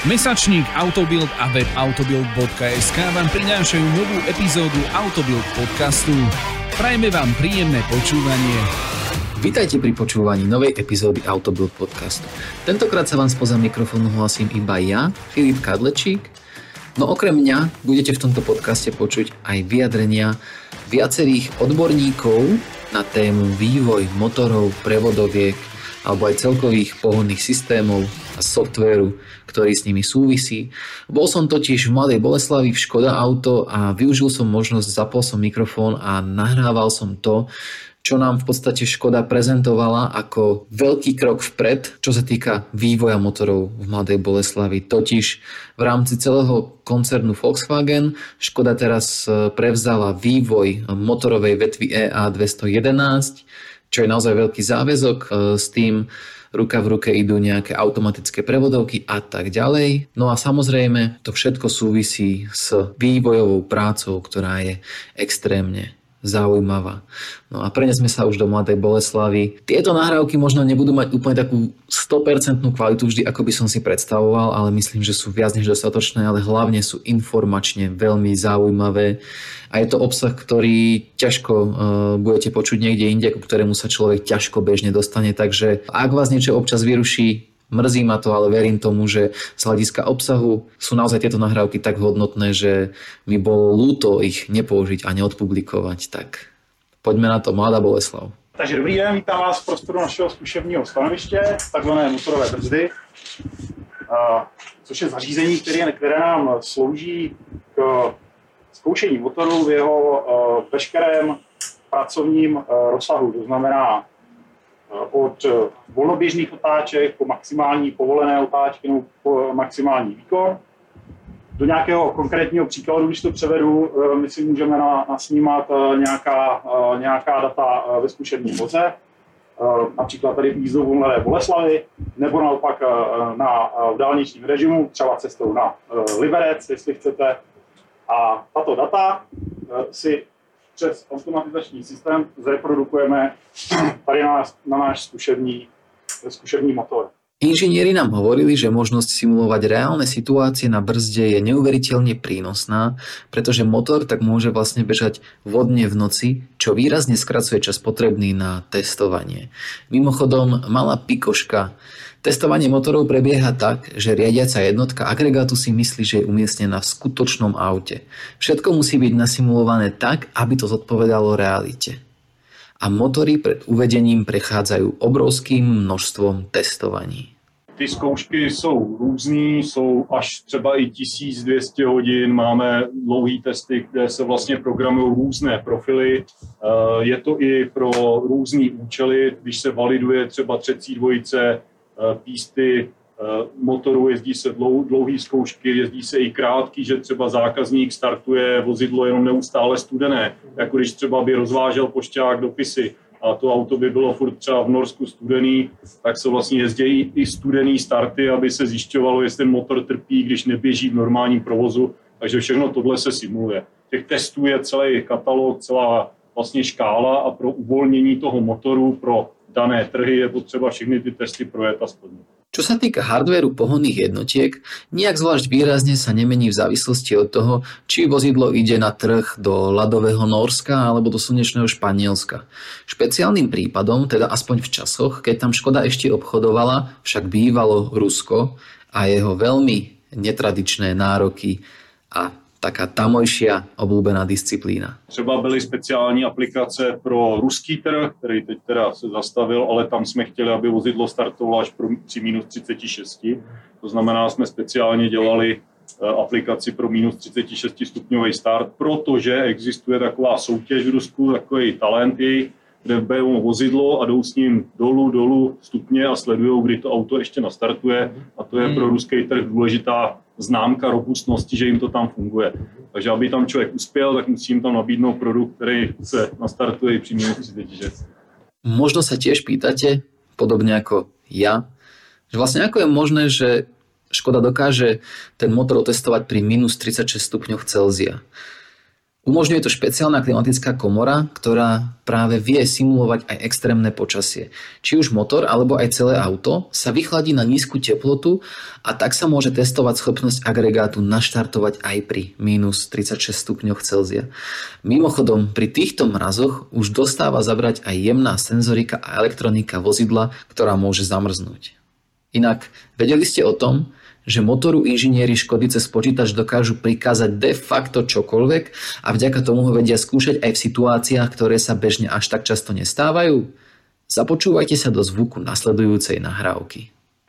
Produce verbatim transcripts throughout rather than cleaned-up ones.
Mesačník Autobild a web autobild bodka es ká vám prinášajú novú epizódu Autobild podcastu. Prajme vám príjemné počúvanie. Vítajte pri počúvaní novej epizódy Autobild podcastu. Tentokrát sa vám spoza mikrofónu hlasím iba ja, Filip Kadlečík. No okrem mňa budete v tomto podcaste počuť aj vyjadrenia viacerých odborníkov na tému vývoj motorov, prevodiek alebo aj celkových pohonných systémov a softvéru, ktorý s nimi súvisí. Bol som totiž v Mladej Boleslavi v Škoda Auto a využil som možnosť, zapol som mikrofón a nahrával som to, čo nám v podstate Škoda prezentovala ako veľký krok vpred, čo sa týka vývoja motorov v Mladej Boleslavi. Totiž v rámci celého koncernu Volkswagen Škoda teraz prevzala vývoj motorovej vetvy é á dvestojedenásť, čo je naozaj veľký záväzok. S tým ruka v ruke idú nejaké automatické prevodovky a tak ďalej. No a samozrejme to všetko súvisí s vývojovou prácou, ktorá je extrémne zaujímavá. No a prenesme sa už do Mladej Boleslavy. Tieto nahrávky možno nebudú mať úplne takú sto percent kvalitu vždy, ako by som si predstavoval, ale myslím, že sú viac než dostatočné, ale hlavne sú informačne veľmi zaujímavé. A je to obsah, ktorý ťažko uh, budete počuť niekde inde, ku ktorému sa človek ťažko bežne dostane. Takže ak vás niečo občas vyruší, mrzí ma to, ale verím tomu, že z hľadiska obsahu sú naozaj tieto nahrávky tak hodnotné, že mi bolo ľúto ich nepoužiť a neodpublikovať. Tak poďme na to, Mladá Boleslav. Takže dobrý den, vítám vás v prostoru našeho zkušebního stanoviště, takzvané motorové brzdy, což je zařízení, které, které nám slouží k zkoušení motoru v jeho veškerém pracovním rozsahu. To znamená od volnoběžných otáček po maximální povolené otáčky nebo po maximální výkon. Do nějakého konkrétního příkladu, když to převedu, my si můžeme nasnímat nějaká, nějaká data ve zkušebním voze, například tady v jízdou Mladé Boleslavy, nebo naopak na, v dálničním režimu, třeba cestou na Liberec, jestli chcete. A tato data si přes automatizační systém zreprodukujeme tady na, na náš zkušební, zkušební motor. Inžinieri nám hovorili, že možnosť simulovať reálne situácie na brzde je neuveriteľne prínosná, pretože motor tak môže vlastne bežať vodne v noci, čo výrazne skracuje čas potrebný na testovanie. Mimochodom, malá pikoška. Testovanie motorov prebieha tak, že riadiaca jednotka agregátu si myslí, že je umiestnená v skutočnom aute. Všetko musí byť nasimulované tak, aby to zodpovedalo realite. A motory pred uvedením prechádzajú obrovským množstvom testovaní. Ty zkoušky jsou různý, jsou až třeba i tisíc dvě stě hodin, máme dlouhý testy, kde se vlastně programují různé profily. Je to i pro různý účely, když se validuje třeba třecí dvojice, písty motoru, jezdí se dlou, dlouhý zkoušky, jezdí se i krátký, že třeba zákazník startuje vozidlo jenom neustále studené, jako když třeba by rozvážel pošťák dopisy a to auto by bylo furt třeba v Norsku studený, tak se vlastně jezdí i studený starty, aby se zjišťovalo, jestli ten motor trpí, když neběží v normálním provozu, takže všechno tohle se simuluje. Těch testů je celý katalog, celá vlastně škála a pro uvolnění toho motoru pro dané trhy je potřeba všechny ty testy projet a splnit. Čo sa týka hardvéru pohonných jednotiek, nijak zvlášť výrazne sa nemení v závislosti od toho, či vozidlo ide na trh do ľadového Nórska alebo do slnečného Španielska. Špeciálnym prípadom, teda aspoň v časoch, keď tam Škoda ešte obchodovala, však bývalo Rusko a jeho veľmi netradičné nároky a taká tamojšia obľúbená disciplína. Třeba byly speciální aplikace pro ruský trh, který teď teda se zastavil, ale tam jsme chtěli, aby vozidlo startovalo až při minus třicet šest. To znamená, jsme speciálně dělali aplikaci pro minus třicet šest stupňový start, protože existuje taková soutěž v Rusku, takový talent jej, kde berou vozidlo a jdou s ním dolů, dolů stupně a sledují, kdy to auto ještě nastartuje. A to je pro ruský trh důležitá známka robustnosti, že jim to tam funguje. Takže aby tam člověk uspěl, tak musím tam nabídnout produkt, který se nastartuje při minus třicet šest. Možno sa tiež pýtate, podobne ako ja, že vlastne ako je možné, že Škoda dokáže ten motor otestovať pri minus tridsaťšesť stupňov Celzia. Umožňuje to špeciálna klimatická komora, ktorá práve vie simulovať aj extrémne počasie. Či už motor alebo aj celé auto sa vychladí na nízku teplotu a tak sa môže testovať schopnosť agregátu naštartovať aj pri mínus tridsaťšesť stupňoch Celzia. Mimochodom, pri týchto mrazoch už dostáva zabrať aj jemná senzorika a elektronika vozidla, ktorá môže zamrznúť. Inak, vedeli ste o tom, že motoru inžinieri Škody cez počítač dokážu prikázať de facto čokoľvek a vďaka tomu ho vedia skúšať aj v situáciách, ktoré sa bežne až tak často nestávajú? Započúvajte sa do zvuku nasledujúcej nahrávky.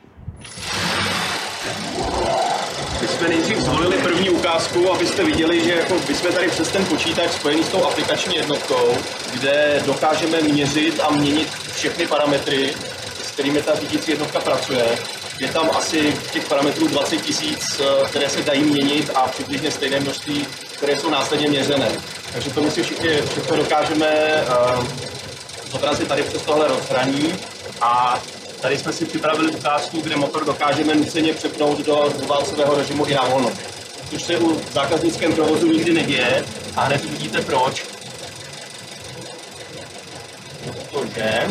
My jsme nejdřív zvolili první ukázku, abyste viděli, že jako my jsme tady přes ten počítač spojený s tou aplikační jednotkou, kde dokážeme měřit a měnit všechny parametry, s kterými ta řídící jednotka pracuje. Je tam asi těch parametrů dvacet tisíc, které se dají měnit a přibližně stejné množství, které jsou následně měřené. Takže to my si všichni, všechno dokážeme uh, zobrazit tady přes tohle rozhraní a tady jsme si připravili ukázku, kde motor dokážeme nuceně přepnout do dvouválcového režimu i na volno. Což se u zákaznickém provozu nikdy neděje a hned vidíte proč. Protože...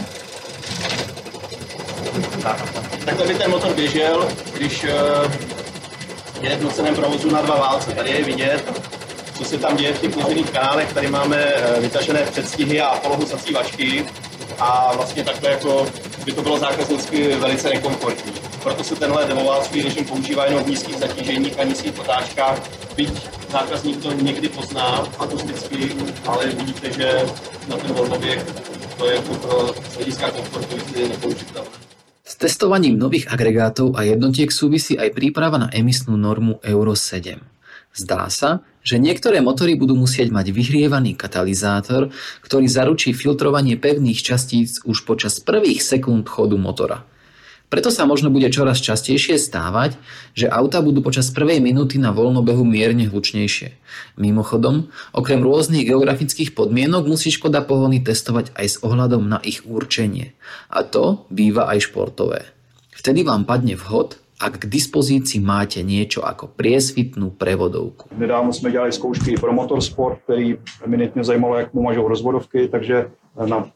Tak. Takhle by ten motor běžel, když uh, je v nuceném provozu na dva válce. Tady je vidět, co se tam děje v těch měřených kanálech. Tady máme uh, vytažené předstihy a polohu zacívačky a vlastně takhle jako by to bylo zákaznicky velice nekomfortní. Proto se tenhle demoválcový režim používá jenom v nízkých zatíženích a nízkých otáčkách, byť zákazník to někdy pozná akusticky, ale vidíte, že na ten volnoběh to je pro hlediska komfortu nepoužitelné. S testovaním nových agregátov a jednotiek súvisí aj príprava na emisnú normu Euro sedem. Zdá sa, že niektoré motory budú musieť mať vyhrievaný katalizátor, ktorý zaručí filtrovanie pevných častíc už počas prvých sekúnd chodu motora. Preto sa možno bude čoraz častejšie stávať, že autá budú počas prvej minúty na voľnobehu mierne hlučnejšie. Mimochodom, okrem rôznych geografických podmienok musí Škoda pohony testovať aj s ohľadom na ich určenie. A to býva aj športové. Vtedy vám padne vhod, ak k dispozícii máte niečo ako priesvitnú prevodovku. Nedávno jsme dělali zkoušky pro motorsport, který eminentně zajímalo, jak mu mažou rozvodovky, takže na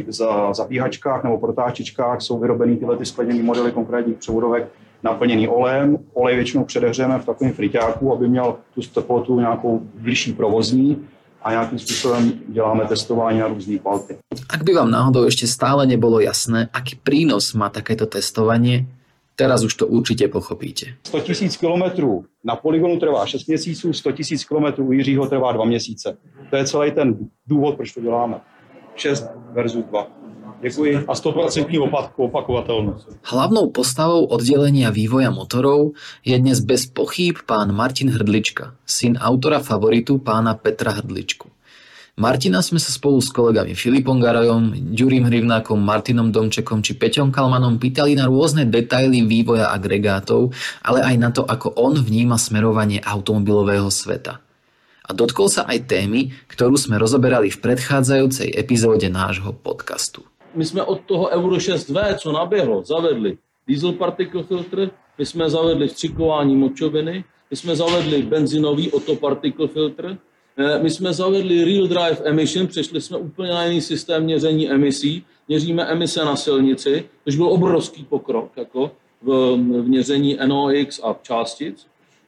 za zapíhačkách nebo protáčičkách jsou vyrobeny tyhle ty skleněné modely konkrétních převodovek naplněný olejem. Olej většinou předehřejeme v takovém friťáku, aby měl tu teplotu nějakou bližší provozní a nějakým způsobem děláme testování na různé kvality. Ak by vám náhodou ešte stále nebolo jasné, aký prínos má takéto testovanie, teraz už to určite pochopíte. sto tisíc kilometrů na polygonu trvá šest měsíců, sto tisíc kilometrů u Jiřího trvá dva měsíce. To je celý ten důvod, proč to děláme. šest versus dva. Děkuji. A sto procent opakovatelnost. Hlavnou postavou oddelenia vývoja motorov je dnes bez pochýb pán Martin Hrdlička, syn autora favoritu pána Petra Hrdličku. Martina sme sa spolu s kolegami Filipom Garajom, Ďurím Hrivnákom, Martinom Domčekom či Peťom Kalmanom pýtali na rôzne detaily vývoja agregátov, ale aj na to, ako on vníma smerovanie automobilového sveta. A dotkol sa aj témy, ktorú sme rozoberali v predchádzajúcej epizóde nášho podcastu. My jsme od toho Euro šest vé, co naběhlo, zavedli diesel particle filtr, my jsme zavedli vstřikování močoviny, my jsme zavedli benzinový auto particle filtr, my jsme zavedli real drive emission, přešli jsme úplně na jiný systém měření emisí, měříme emise na silnici, což byl obrovský pokrok jako v, v měření N O X a částic.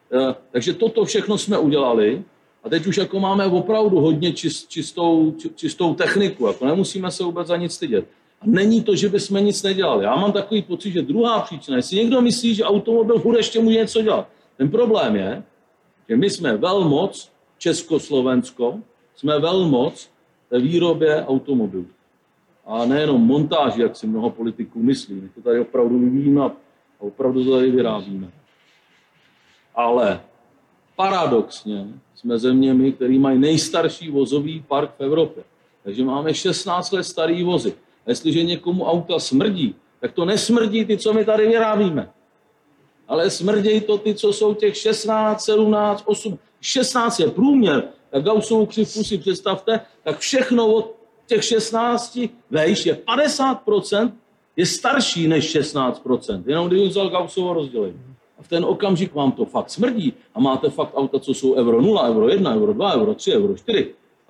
Takže toto všechno jsme udělali. A teď už jako máme opravdu hodně čist, čistou, čistou techniku, jako nemusíme se vůbec za nic stydět. A není to, že bychom nic nedělali. Já mám takový pocit, že druhá příčina, jestli někdo myslí, že automobil furt ještě může něco dělat. Ten problém je, že my jsme velmoc, Československo, jsme velmoc ve výrobě automobilů. A nejenom montáži, jak si mnoho politiků myslí. My to tady opravdu vyvíjíme a opravdu to tady vyrábíme. Ale paradoxně jsme zeměmi, které mají nejstarší vozový park v Evropě. Takže máme šestnáct let starý vozy. A jestliže někomu auta smrdí, tak to nesmrdí ty, co my tady vyrábíme. Ale smrdějí to ty, co jsou těch šestnáct, sedmnáct, osm, šestnáct je průměr. Tak Gaussovou křivku si představte, tak všechno od těch šestnácti vejš je padesát procent je starší než šestnáct procent. Jenom když vzal Gaussovo rozdělení. A v ten okamžik vám to fakt smrdí a máte fakt auta, co jsou euro nula, euro jedna, euro dva, euro tři, euro čtyři.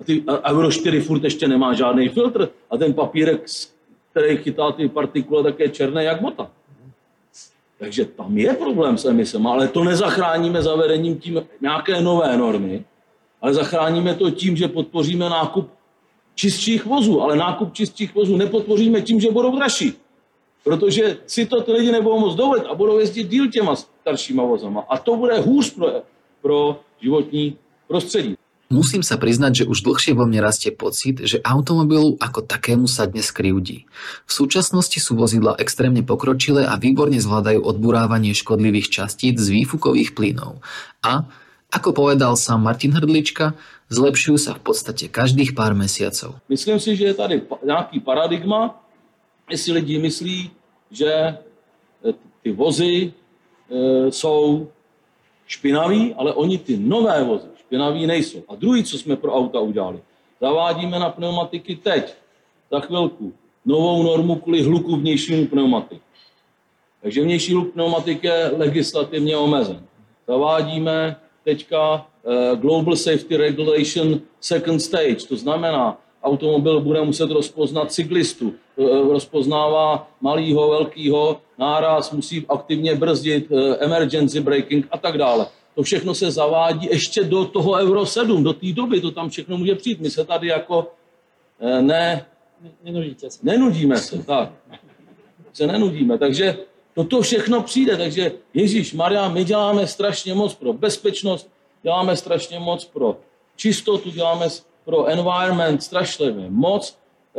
A, ty, a Euro čtyři furt ještě nemá žádný filtr a ten papírek, který chytá ty partikule, tak je černý jak bota. Takže tam je problém s emisemi, ale to nezachráníme zavedením tím nějaké nové normy, ale zachráníme to tím, že podpoříme nákup čistších vozů, ale nákup čistých vozů nepodpoříme tím, že budou dražší. Protože si to ty lidi nebudou moc dovolit a budou jezdit díl těma staršíma vozama. A to bude hůř pro, pro životní prostředí. Musím sa priznať, že už dlhšie vo mne rastie pocit, že automobilu ako takému sa dnes krivdí. V súčasnosti sú vozidlá extrémne pokročilé a výborne zvládajú odburávanie škodlivých častíc z výfukových plynov. A, ako povedal sám Martin Hrdlička, zlepšujú sa v podstate každých pár mesiacov. Myslím si, že je tady nějaký paradigma, jestli lidi myslí, že ty vozy e, jsou špinaví, ale oni ty nové vozy špinaví nejsou. A druhý, co jsme pro auta udělali, zavádíme na pneumatiky teď, za chvilku, novou normu kvůli hluku vnějšímu pneumatiky. Takže vnější hluk pneumatik je legislativně omezen. Zavádíme teďka uh, Global Safety Regulation Second Stage, to znamená, automobil bude muset rozpoznat cyklistu, uh, rozpoznává malýho, velkýho, náraz, musí aktivně brzdit, uh, emergency braking a tak dále. To všechno se zavádí ještě do toho Euro sedm, do té doby, to tam všechno může přijít. My se tady jako uh, ne... Nenudíte se. Nenudíme se, tak. Se nenudíme, takže toto všechno přijde, takže Ježíš Maria, my děláme strašně moc pro bezpečnost, děláme strašně moc pro čistotu, děláme pro environment strašlivě moc.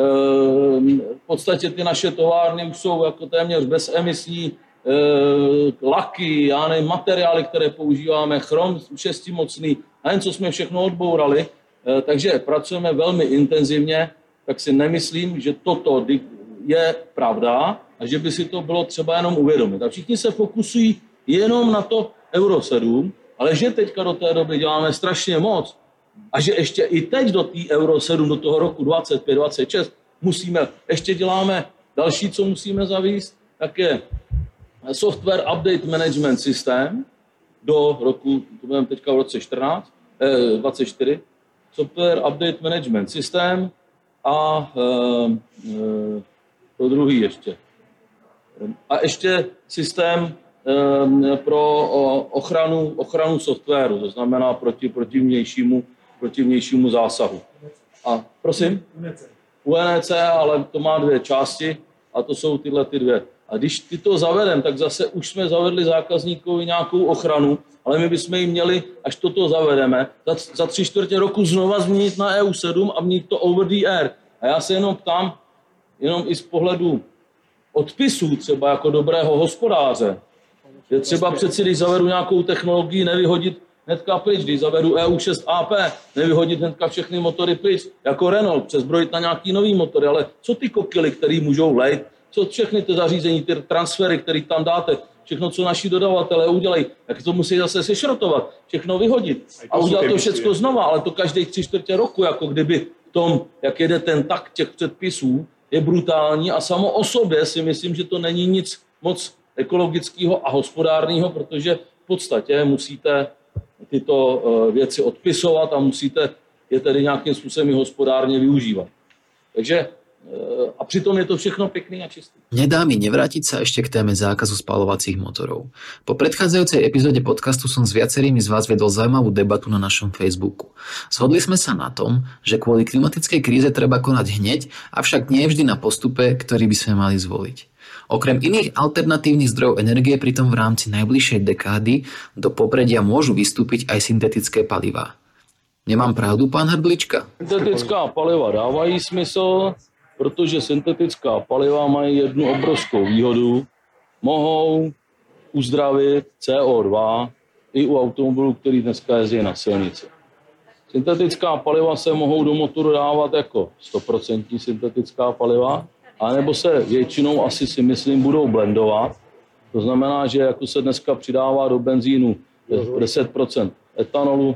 V podstatě ty naše továrny už jsou jako téměř bezemisní, laky, já nevím, materiály, které používáme, chrom šestimocný, a jen co jsme všechno odbourali, takže pracujeme velmi intenzivně, tak si nemyslím, že toto je pravda a že by si to bylo třeba jenom uvědomit. A všichni se fokusují jenom na to Euro sedm, ale že teďka do té doby děláme strašně moc a že ještě i teď do té Euro sedm, do toho roku dvacet pět dvacet šest musíme, ještě děláme další, co musíme zavést, tak je Software Update Management System do roku, to budeme teďka v roce čtrnáct, eh, dvacet čtyři, Software Update Management System a eh, eh, to druhý ještě. A ještě systém eh, pro ochranu, ochranu softwaru, to znamená proti, proti, vnějšímu, proti vnějšímu zásahu. A prosím? U N E C, ale to má dvě části a to jsou tyhle ty dvě. A když ty to zavedem, tak zase už jsme zavedli zákazníkovi nějakou ochranu, ale my bychom jim měli, až toto zavedeme, za, za tři čtvrtě roku znova změnit na E U sedm a měnit to over the air. A já se jenom ptám, jenom i z pohledu odpisů, třeba jako dobrého hospodáře, že třeba přeci, když zavedu nějakou technologii, nevyhodit hnedka pryč, když zavedu E U šest A P, nevyhodit hnedka všechny motory pryč, jako Renault, přezbrojit na nějaký nový motory, ale co ty kokily, které můžou vlejt, co všechny ty zařízení, ty transfery, které tam dáte, všechno, co naši dodavatelé udělají, tak to musí zase sešrotovat, všechno vyhodit a udělat to všechno znova, ale to každých tři čtvrtě roku, jako kdyby v tom, jak jede ten takt těch předpisů, je brutální a samo o sobě si myslím, že to není nic moc ekologického a hospodárného, protože v podstatě musíte tyto věci odpisovat a musíte je tedy nějakým způsobem i hospodárně využívat. Takže a pritom je to všechno pekný a čistý. Nedá mi nevrátiť sa ešte k téme zákazu spaľovacích motorov. Po predchádzajúcej epizóde podcastu som s viacerými z vás viedol zaujímavú debatu na našom Facebooku. Zhodli sme sa na tom, že kvôli klimatickej kríze treba konať hneď, avšak nie vždy na postupe, ktorý by sme mali zvoliť. Okrem iných alternatívnych zdrojov energie pritom v rámci najbližšej dekády do popredia môžu vystúpiť aj syntetické palivá. Nemám pravdu, pán Hrdlička? Syntetická paliva dávají smysl, protože syntetická paliva mají jednu obrovskou výhodu. Mohou uzdravit C O dva i u automobilů, který dneska jezdí na silnici. Syntetická paliva se mohou do motoru dávat jako sto procent syntetická paliva, anebo se většinou asi si myslím budou blendovat. To znamená, že jako se dneska přidává do benzínu deset procent etanolu,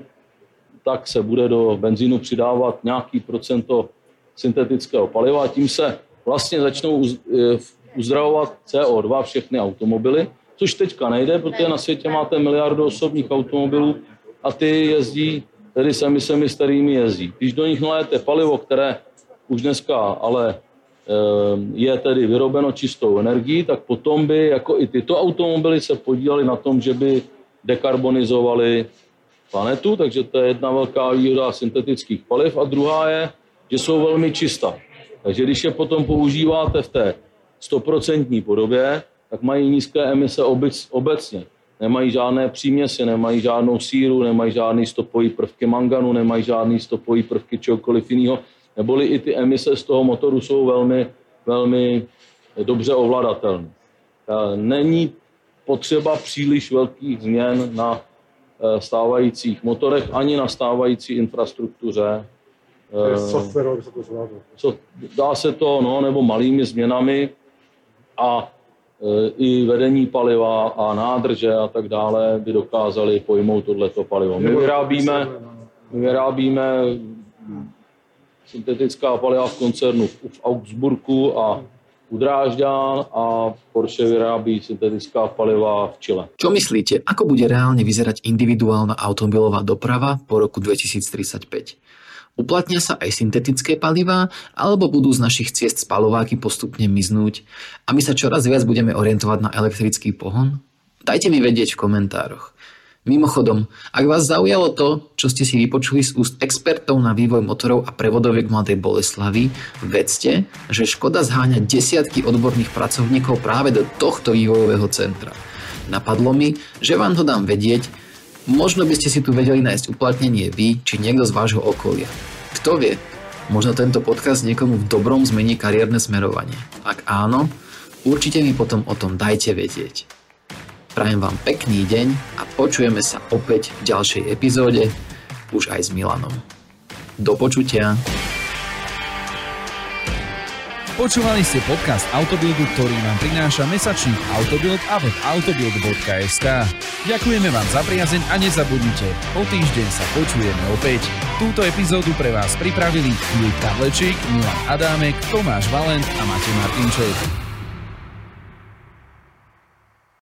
tak se bude do benzínu přidávat nějaký procento syntetického paliva a tím se vlastně začnou uzdravovat C O dva všechny automobily, což teďka nejde, protože na světě máte miliardu osobních automobilů a ty jezdí tedy s emisemi, s kterými jezdí. Když do nich nalijete palivo, které už dneska ale je tedy vyrobeno čistou energií, tak potom by jako i tyto automobily se podílely na tom, že by dekarbonizovali planetu, takže to je jedna velká výhoda syntetických paliv. A druhá je, že jsou velmi čistá. Takže když je potom používáte v té stoprocentní podobě, tak mají nízké emise obec, obecně. Nemají žádné příměsi, nemají žádnou síru, nemají žádný stopový prvky manganu, nemají žádný stopový prvky čehokoliv jiného. Neboli i ty emise z toho motoru jsou velmi, velmi dobře ovladatelné. Není potřeba příliš velkých změn na stávajících motorech ani na stávající infrastruktuře. Softwarově se to zvládlo. Dá se to, no, nebo malými změnami a e, i vedení paliva a nádrže a tak dále by dokázali pojmout tohleto palivo. My vyrábíme, my vyrábíme syntetická paliva v koncernu v Augsburgu a u Drážďan a Porsche vyrábí syntetická paliva v Chile. Čo myslíte, ako bude reálne vyzerať individuálna automobilová doprava po roku dvetisíctridsaťpäť? Uplatnia sa aj syntetické palivá, alebo budú z našich ciest spaľováky postupne miznúť a my sa čoraz viac budeme orientovať na elektrický pohon? Dajte mi vedieť v komentároch. Mimochodom, ak vás zaujalo to, čo ste si vypočuli z úst expertov na vývoj motorov a prevodoviek Mladej Boleslavy, vedzte, že Škoda zháňa desiatky odborných pracovníkov práve do tohto vývojového centra. Napadlo mi, že vám to dám vedieť, možno by ste si tu vedeli nájsť uplatnenie vy, či niekto z vášho okolia. Kto vie, možno tento podcast niekomu v dobrom zmení kariérne smerovanie. Ak áno, určite mi potom o tom dajte vedieť. Prajem vám pekný deň a počujeme sa opäť v ďalšej epizóde, už aj s Milanom. Do počutia. Počúvali ste podcast Autobuildu, ktorý vám prináša mesačník Autobuild a web autobuild bodka es ká. Ďakujeme vám za priazeň a nezabudnite, o týždeň sa počujeme opäť. Túto epizódu pre vás pripravili Filip Kadlečík, Milan Adámek, Tomáš Valent a Matej Martinček.